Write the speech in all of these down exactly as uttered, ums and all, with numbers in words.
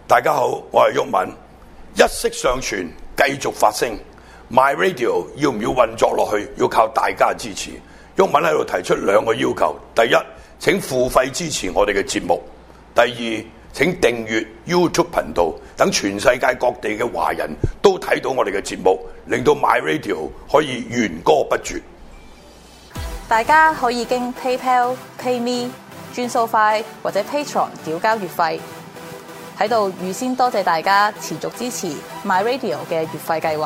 大家好，我係毓民，一息尚存，繼續發聲。My Radio 要唔要運作落去，要靠大家支持。毓民喺度提出兩個要求：第一，請付費支持我哋嘅節目；第二，請訂閱 YouTube 頻道，等全世界各地嘅華人都睇到我哋嘅節目，令到 My Radio 可以源歌不絕。 大家可以經 PayPal、PayMe、轉數快或者 Patreon 繳交月費。喺度預先多謝大家持續支持 My Radio 嘅月費計劃。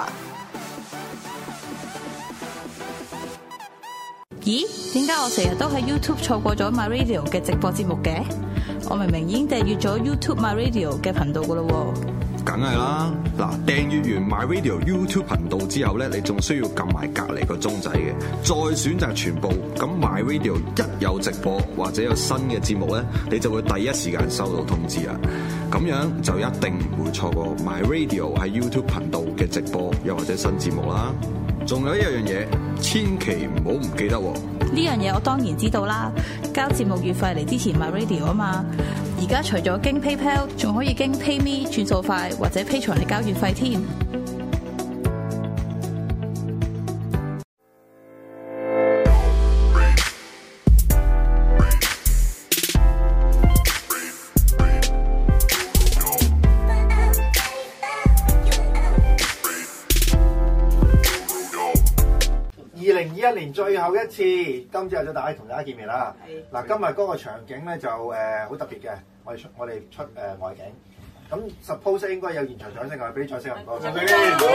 咦？點解我成日都喺 YouTube 錯過咗 My Radio 嘅直播節目嘅？我明明已經訂閱咗 YouTube My Radio 嘅頻道㗎喇喎。 梗係啦，嗱，訂閱完 My Radio YouTube 頻道之後咧，你仲需要撳埋隔離個鐘仔嘅，再選擇全部。咁 My Radio 一有直播或者有新嘅節目咧，你就會第一時間收到通知啊！咁樣就一定唔會錯過 My Radio 喺 YouTube 頻道嘅直播又或者新節目啦。仲有一樣嘢，千祈唔好唔記得喎！ 呢樣嘢我當然知道啦，交節目月費嚟支持 My Radio 啊嘛。而家除咗經 PayPal， 仲可以經 PayMe 轉數快或者 Patreon 嚟交月費添。 二零二一年最後一次，今朝就大家同大家見面啦。嗱，今日嗰個場景咧就誒好特別嘅，我哋出我哋出誒、呃、外景。咁 suppose 應該有現場掌聲，我哋俾啲掌聲唔該。嗱，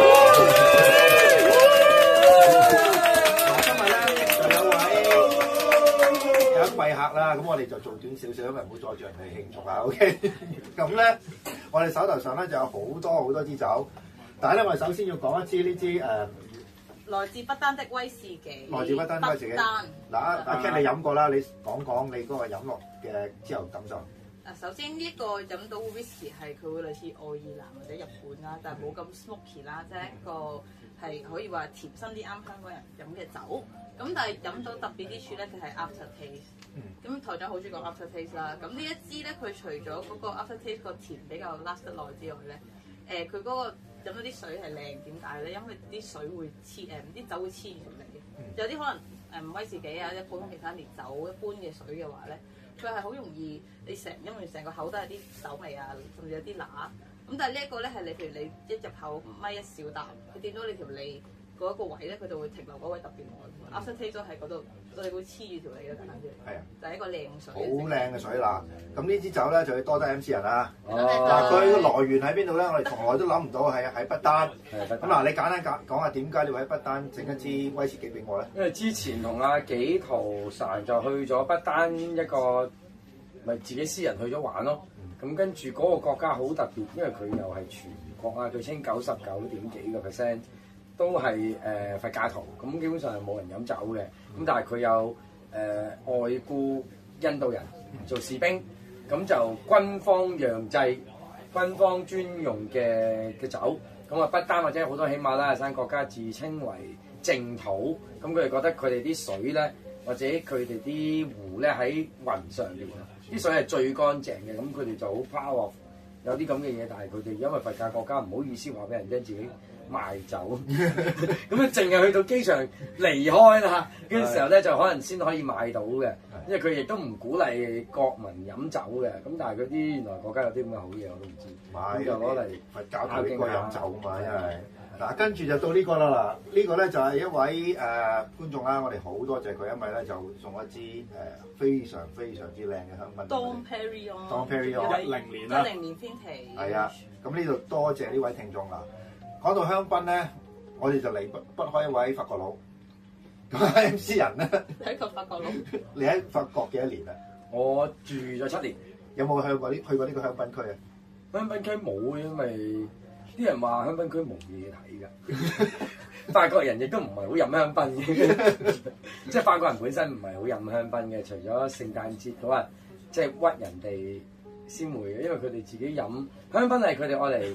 今日咧就有位有一位客啦，咁我哋就做短少少，因為唔好阻住人哋慶祝啊。OK，咁咧我哋手頭上咧就有好多好多支酒，但係咧我哋首先要講一支呢支誒。呃來自不丹的威士忌， 來自不丹威士忌。嗱，阿阿 Ken 你飲過啦，你講講你嗰個飲落嘅之後感受。 啊，首先呢一個飲到 whisky 係佢會類似愛爾蘭或者日本啦，但係冇咁 smoky 啦，即係一個係可以話甜身啲啱香港人飲嘅酒。咁但係飲到特別啲處咧，佢係 after taste。咁台長好中意講 after taste 啦。咁呢一支咧，佢除咗嗰個 after taste 個甜比較 last 得耐之外咧，誒佢嗰個飲到啲水係靚，點解咧？因為啲水會黐誒，啲、呃、酒會黐住條脷嘅。嗯、有啲可能誒、呃、威士忌啊，或者普通其他烈酒一般嘅水嘅話咧，佢係好容易你成因為成個口都係啲酒味啊，甚至有啲乸。咁但係呢一個咧係你譬如你一入口咪一小啖，佢掂到你條脷嗰一個位咧，佢就會停留嗰位特別耐。After taste 都喺嗰度，我哋會黐住條脷嘅簡單啲。係啊，就係一個靚水。 好靚嘅水啦！咁呢支酒咧就要多得 M C 人啦。 哦。 嗱，佢個來源喺邊度咧？我哋從來都諗唔到係喺不丹。 係不丹。 咁嗱，你簡單講講下點解你會喺不丹整一支威士忌俾我咧？ 因為之前同阿紀陶神就去咗不丹一個，咪自己私人去咗玩咯。咁、嗯、跟住嗰個國家好特別，因為佢又係全國啊，據稱九十九點幾個 percent 都係誒、呃、佛教徒，咁基本上係冇人飲酒嘅。咁但係佢有誒、呃、外僱印度人做士兵，咁就軍方釀製、軍方專用嘅嘅酒。咁啊，不丹或者好多喜馬拉雅山國家自稱為淨土，咁佢哋覺得佢哋啲水咧，或者佢哋啲湖咧喺雲上邊啊，啲水係最乾淨嘅，咁佢哋就好 power，有啲咁嘅嘢，但係佢哋因為佛教國家唔好意思話俾人聽自己賣酒，咁啊淨係去到機場離開啦嘅時候咧，就可能先可以買到嘅，因為佢亦都唔鼓勵國民飲酒嘅。咁但係嗰啲原來國家有啲咁嘅好嘢，我都唔知。咁就攞嚟佛教徒應該飲酒嘛，因為嗱跟住就到呢個啦嗱，呢個咧就係一位誒觀眾啦，我哋好多謝佢，因為咧就送一支誒非常非常之靚嘅香檳。 Dom Perignon。 Dom Perignon。 一零年啦。一零年編期。 係啊，咁呢度多謝呢位聽眾啦。講到香檳咧，我哋就離不不開一位法國佬。咁 M C 人咧， 係一個法國佬。 你喺法國幾多年啊？ 我住咗七年。 有冇去過呢？去過呢個香檳區啊？ 香檳區冇，因為啲人話香檳區冇嘢睇㗎。法國人亦都唔係好飲香檳嘅，即係法國人本身唔係好飲香檳嘅，除咗聖誕節嗰日即係屈人哋先會嘅，因為佢哋自己飲香檳係佢哋愛嚟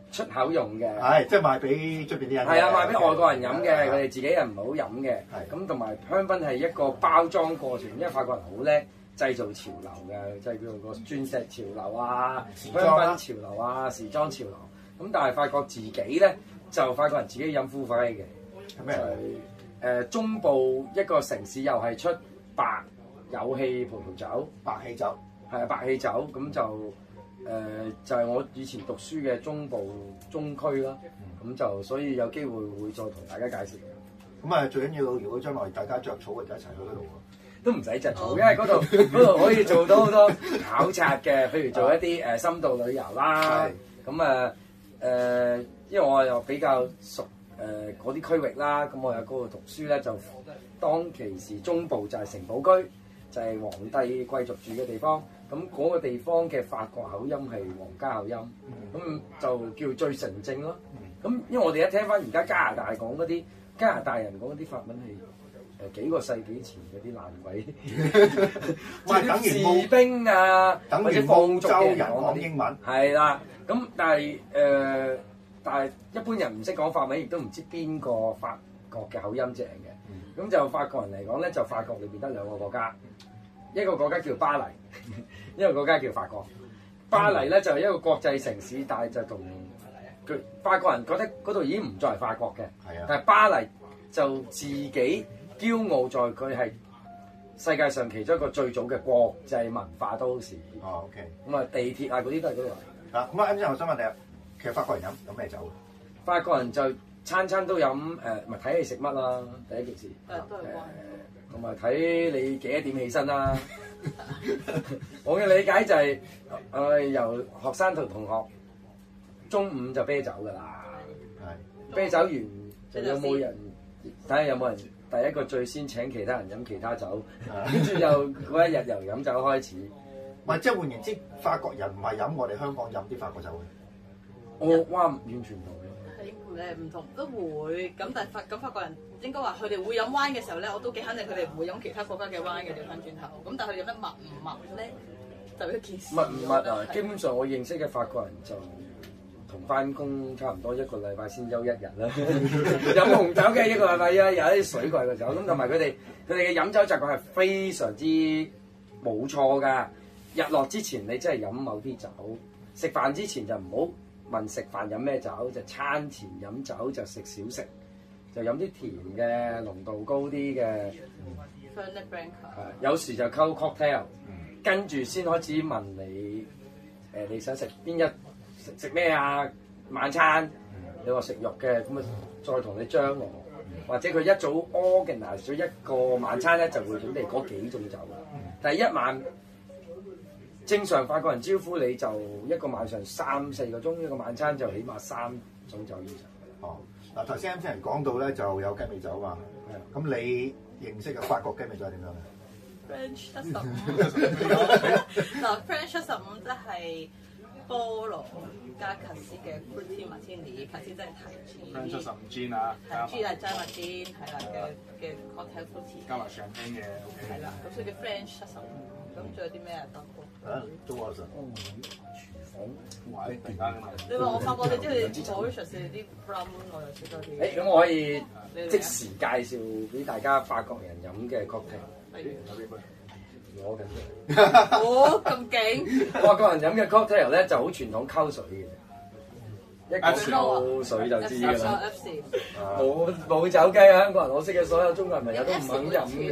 出口用嘅。 係，即係賣俾出邊啲人。 係啊，賣俾外國人飲嘅，佢哋自己人唔好飲嘅。 係咁同埋香檳係一個包裝過程，因為法國人好叻製造潮流嘅，即係叫做個鑽石潮流啊、香檳潮流啊、時裝潮流。咁但係法國自己咧，就法國人自己飲苦啡嘅。 係咩？ 誒、呃、中部一個城市又係出白有氣葡萄酒， 白氣酒， 係啊白氣酒，咁就誒、呃、就係、是、我以前讀書嘅中部中區啦，咁、嗯、就所以有機會會再同大家介紹嘅。 咁啊最緊要，如果將來大家着草就一齊去嗰度喎。 都唔使着草，因為嗰度嗰度可以做到好多考察嘅，譬如做一啲誒深度旅遊啦，咁啊誒，因為我又比較熟。誒嗰啲區域啦，咁我喺嗰度讀書咧，就當其時中部就係城堡區，就係、是、皇帝貴族住嘅地方。咁嗰個地方嘅法國口音係皇家口音，咁、嗯、就叫最純正咯。咁、嗯、因為我哋一聽翻而家加拿大講嗰啲加拿大人講嗰啲法文係誒幾個世紀前嗰啲爛鬼，即係士兵啊，或者放逐嘅人講英文。係啦，咁但係誒。呃但係一般人唔識講法文，亦都唔知邊個法國嘅口音正嘅。咁、嗯、就法國人嚟講咧，就法國裏邊得兩個國家，一個國家叫巴黎，一個國家叫法國。巴黎咧就係一個國際城市，但係就同佢法國人覺得嗰度已經唔再係法國嘅。係啊。但係巴黎就自己驕傲在佢係世界上其中一個最早嘅國際文化都市。 哦 ，OK。咁啊，地鐵啊嗰啲都係嗰度嚟。 啊，咁啊，啱先我想問你啊。其實法國人飲飲咩酒？ 法國人就餐餐都飲誒，咪睇你食乜啦，第一件事。 誒都係關。 同埋睇你幾多點起身啦。我嘅理解就係、是、誒、呃、由學生同同學中午就啤酒㗎啦。係。啤酒完就有冇人睇下有冇人第一個最先請其他人飲其他酒，跟住又嗰一日由飲酒開始。 唔係，即係換言之，法國人唔係飲我哋香港飲啲法國酒嘅。 我、哦、哇，完全唔同嘅。 係誒唔同都會咁，但係法咁法國人應該話佢哋會飲 wine 嘅時候咧，我都幾肯定佢哋唔會飲其他國家嘅 wine 嘅。調翻轉頭，咁但係佢飲得密唔密咧，就一件事。 密唔密啊？基本上我認識嘅法國人就同翻工差唔多，一個禮拜先休一日啦。飲紅酒嘅一個禮拜休一日，有啲水貴嘅酒咁，同埋佢哋佢哋嘅飲酒習慣係非常之冇錯㗎。日落之前你真係飲某啲酒，食飯之前就唔好問食飯飲咩酒，就餐前飲酒就食少食，就飲啲甜嘅濃度高啲嘅。 Fernet Branca。 係有時就溝 cocktail，跟住先開始問你誒、呃、你想食邊一食食咩啊？晚餐你話食肉嘅，咁啊再同你張羅，或者佢一早 organize 咗一個晚餐咧，就會準備嗰幾種酒啦。第一晚。正常法國人招呼你就一個晚上三四個鐘，一個晚餐就起碼三種酒以上。 哦，嗱頭先啱先人講到咧就有雞尾酒嘛，咁你認識嘅法國雞尾酒係點樣咧 ？French 七十五，嗱 French 七十五即係菠蘿加卡斯嘅 Fruity Martini，卡斯即係提子。 French 七十五 gin 啊， 提子係齋麥 gin 係啦嘅嘅 cocktail fruity。 加埋 champagne 嘅 OK。 係啦，咁所以叫 French 七十五。咁仲有啲咩啊？德國啊，中國神。 廚房位突然間。 你話我發覺你知佢 Mauritius 啲 rum 我又識多啲。 誒，咁我可以即時介紹俾大家法國人飲嘅 cocktail。 例如。 攞緊。 哦，咁勁！ 法國人飲嘅 cocktail 咧就好傳統，溝水嘅。一講溝水就知㗎啦。冇冇走雞啊！香港人，我識嘅所有中國人朋友都唔肯飲嘅。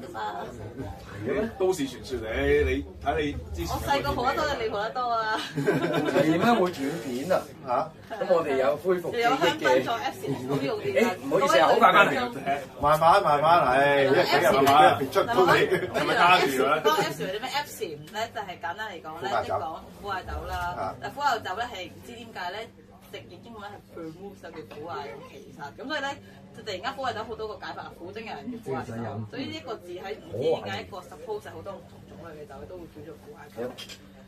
都市傳說嚟，你睇你之前。 我細個蒲得多，你蒲得多啊！ 係點解會斷片啊？嚇！咁我哋有恢復記憶嘅。誒，唔好意思啊，好快翻嚟。 慢慢慢慢嚟，一幾日慢慢入邊出到嚟， 係咪加住咧？ 嗰個 F 啲咩 F 禪咧，就係簡單嚟講咧，即係講苦艾酒啦。但苦艾酒咧係唔知點解咧，直譯英文係 vermouth 就叫苦艾咁其實，咁所以咧就突然間苦艾酒好多個解法，苦精嘅人叫苦艾酒，所以呢個字喺唔知點解一個 suppose 好多唔同種類嘅酒都會叫做苦艾酒。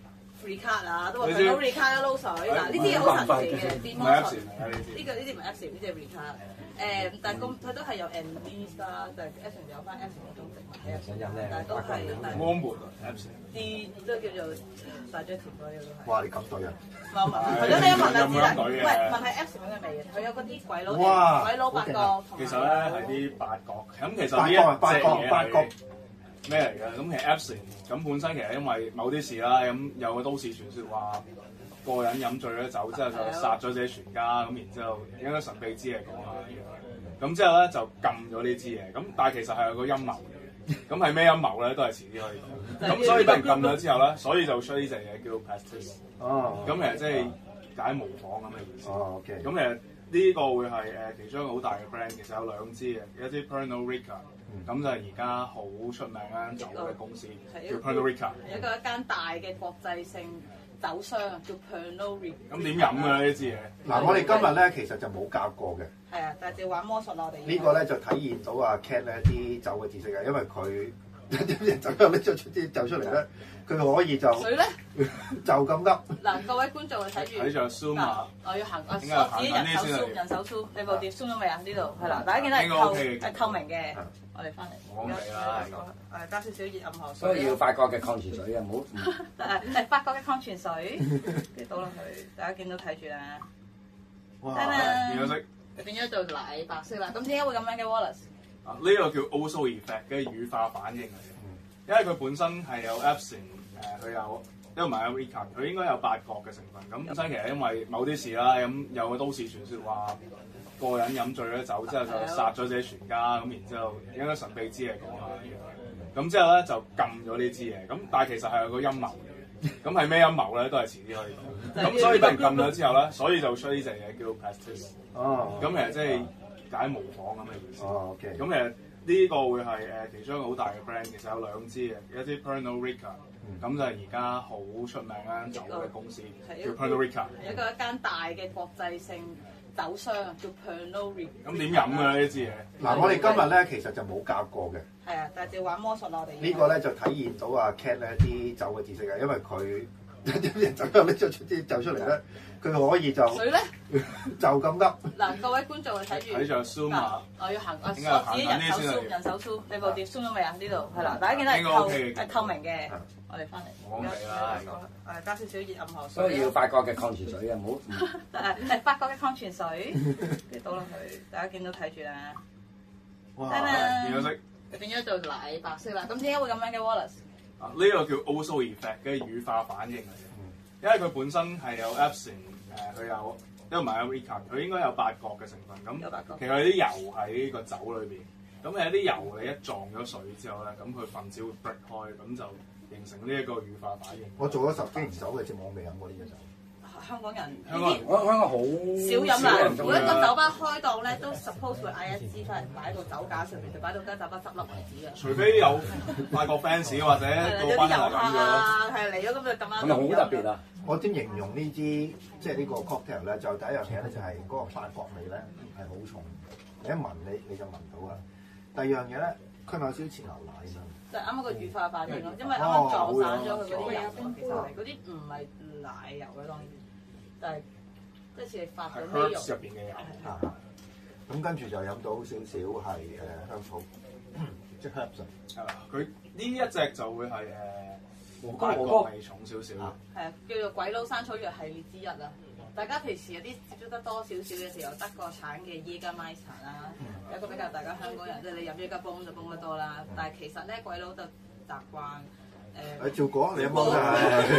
Ricard 啊，都話 Pernod Ricard 撈水。嗱，呢啲嘢好神奇嘅，電摩術。呢個呢啲唔係 Epsom，呢啲係 Ricard。誒，但係咁佢都係有 Andes 啦，就係 Epsom 有翻 Epsom 嗰種植物喺入邊，但係都係但係摩門啊 Epsom 啲都叫做大嘴甜嗰啲都係。 哇！你咁對啊！ 冇問，係咯，你一問就知啦。喂，問係 Epsom 嘅味嘅，佢有嗰啲鬼佬嘅鬼佬八角同埋。 其實咧係啲八角，咁其實八角八角八角咩嚟嘅？咁其實 Epsom 咁本身其實因為某啲事啦，咁有個都市傳說話個人飲醉咗酒之後就殺咗自己全家，咁然之後應該神秘之嘢講下。咁之後咧就禁咗呢支嘢，咁但係其實係有個陰謀嘅，咁係咩陰謀咧？都係遲啲可以講。咁所以俾人禁咗之後咧，所以就出呢隻嘢叫 Pastis。 哦。 咁其實即係解模仿咁嘅意思。 哦，OK。 咁其實呢個會係誒其中一個好大嘅 brand，其實有兩支嘅，一支 Pernod Ricard，咁就係而家好出名間酒嘅公司叫 Pernod Ricard。 係一個一間大嘅國際性酒商叫 Pernod Ricard。 咁點飲嘅呢支嘢？ 嗱，我哋今日咧其實就冇教過嘅。 係啊，但係就玩魔術啦，我哋。 呢個咧就體現到阿 Cat 咧啲酒嘅知識嘅，因為佢啲人酒又拎咗出啲酒出嚟咧，佢可以就水咧就咁噏。 嗱，各位觀眾睇住。 睇住 zoom 啊！ 我要行，我自己人手 zoom，人手 zoom，你部碟 zoom 咗未啊？呢度係啦，大家見到係透係透明嘅。我哋翻嚟。 我嚟啦。 誒，加少少熱暗河水。 所以要法國嘅礦泉水啊，唔好。 誒誒，法國嘅礦泉水，跟住倒落去，大家見到睇住啦。 哇！ 變咗色。 變咗做奶白色啦。咁點解會咁樣嘅 Wallace？ 啊，呢個叫 Ouzo effect 嘅乳化反應嚟嘅，因為佢本身係有 Epsom 誒，佢有因為唔係有 Ricard，佢應該有八角嘅成分。咁本身其實因為某啲事啦，咁有個都市傳說話個人飲醉咗酒之後就殺咗自己全家，咁然之後應該神秘之嘢講下。咁之後咧就禁咗呢支嘢，咁但係其實係有個陰謀嘅，咁係咩陰謀咧？都係遲啲可以講。咁所以俾人禁咗之後咧，所以就出呢隻嘢叫 Pastis。 哦。 咁其實即係解模仿咁嘅意思。 哦，OK。 咁其實呢個會係誒其中一個好大嘅 brand，其實有兩支嘅，一支 Pernod Ricard，咁就係而家好出名間酒嘅公司叫 Pernod Ricard。 係一個一間大嘅國際性酒商叫 Pernod Ricard。 咁點飲嘅呢支嘢？ 嗱，我哋今日咧其實就冇教過嘅。 係啊，但係就玩魔術啦，我哋。 呢個咧就體現到阿 Cat 咧啲酒嘅知識嘅，因為佢啲人酒又拎咗出啲酒出嚟咧，佢可以就水咧就咁噏。 嗱，各位觀眾睇住。 睇住 zoom 啊！ 我要行，我自己人手 zoom，人手 zoom，你部碟 zoom 咗未啊？呢度係啦，大家見到係透係透明嘅。我哋翻嚟。 我嚟啦。 誒，加少少熱暗河水。 所以要法國嘅礦泉水啊，唔好。 誒誒，法國嘅礦泉水，跟住倒落去，大家見到睇住啦。 哇！ 變咗色。 變咗做奶白色啦。咁點解會咁樣嘅 Wallace？ 啊，呢個叫 Ouzo effect 嘅乳化反應嚟嘅，因為佢本身係有 Epsom 誒，佢有因為唔係有 Ricard，佢應該有八角嘅成分。咁其實有啲油喺個酒裏邊，咁有啲油你一撞咗水之後咧，咁佢分子會 break 開，咁就形成呢一個乳化反應。 我做咗十幾年酒嘅節目，我未飲過呢隻酒。 香港人香港人我香港好少飲啦，每一個酒吧開檔咧都 suppose 會嗌一支翻嚟擺到酒架上面，就擺到間酒吧執笠為止嘅。 除非有外國 fans 或者有啲遊客啊，係嚟咗咁就咁啱。 咁咪好特別啊！ 我點形容呢支即係呢個 cocktail 咧？就第一樣嘢咧就係嗰個法國味咧係好重，你一聞你你就聞到啦。第二樣嘢咧，佢咪有少少似牛奶咁樣。 就啱啱個乳化反應咯，因為啱啱撞散咗佢嗰啲油，其實係嗰啲唔係奶油嘅當然，但係即係似你發咗咩油入邊嘅油。 啊，咁跟住就飲到少少係誒香草，即係 herbs。 係啦，佢呢一隻就會係誒黃法哥國味重少少。 係啊，叫做鬼佬山草藥系列之一啦。大家平時有啲接觸得多少少嘅時候，德國產嘅耶加麥茶啦，有一個比較大家香港人即係你飲耶加泵就泵得多啦。但係其實咧鬼佬就習慣誒。 誒照講你有冇啊？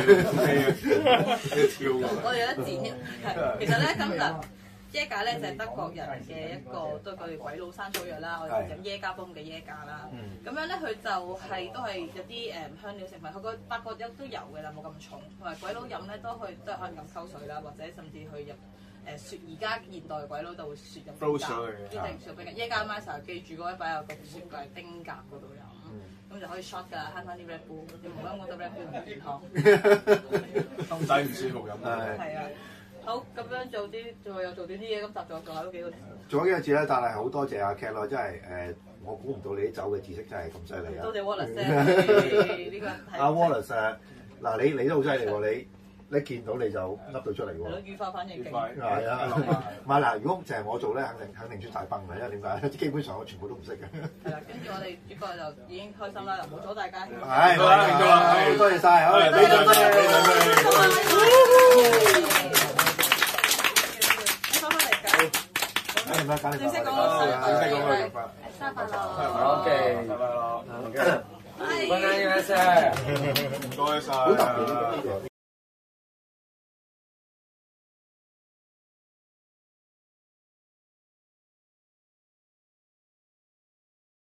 跳我哋有得剪係，其實咧咁嗱。耶加咧就係德國人嘅一個都係佢哋鬼佬山草藥啦，我哋飲耶加泵嘅耶加啦。咁樣咧佢就係都係有啲誒香料成分，佢個法國有都有嘅啦，冇咁重。同埋鬼佬飲咧都去都係可能咁溝水啦，或者甚至去入誒雪。而家現代鬼佬就會雪入冰格，一定雪冰格。耶加 master 記住嗰位擺入個雪櫃冰格嗰度飲，咁就可以 shot 㗎，慳翻啲 Red Bull。你唔好飲咁多 Red Bull 唔健康， 心仔唔舒服飲。 係啊。好，咁樣做啲，仲有做啲啲嘢，咁集咗仲有幾個字。 做咗幾個字咧，但係好多謝阿 Cat 咯，真係誒，我估唔到你啲酒嘅知識真係咁犀利啊！ 多謝 Wallace 呢個阿 Wallace 誒， 嗱，你你都好犀利喎！你你見到你就噏到出嚟係咯， 喎。 語化反應勁。 係啊，唔係嗱，如果淨係我做咧，肯定肯定出大崩嘅，因為點解？基本上我全部都唔識嘅。 係啦，跟住我哋主角就已經開心啦，唔好阻大家。 係，好多謝晒，好，俾掌聲，俾掌聲。 你翻返嚟㗎。 誒唔該，揀你正式講啦。 個正式講個生日快樂。 OK， 拜拜咯。 拜拜，先生。 唔該晒。 好特別呢個。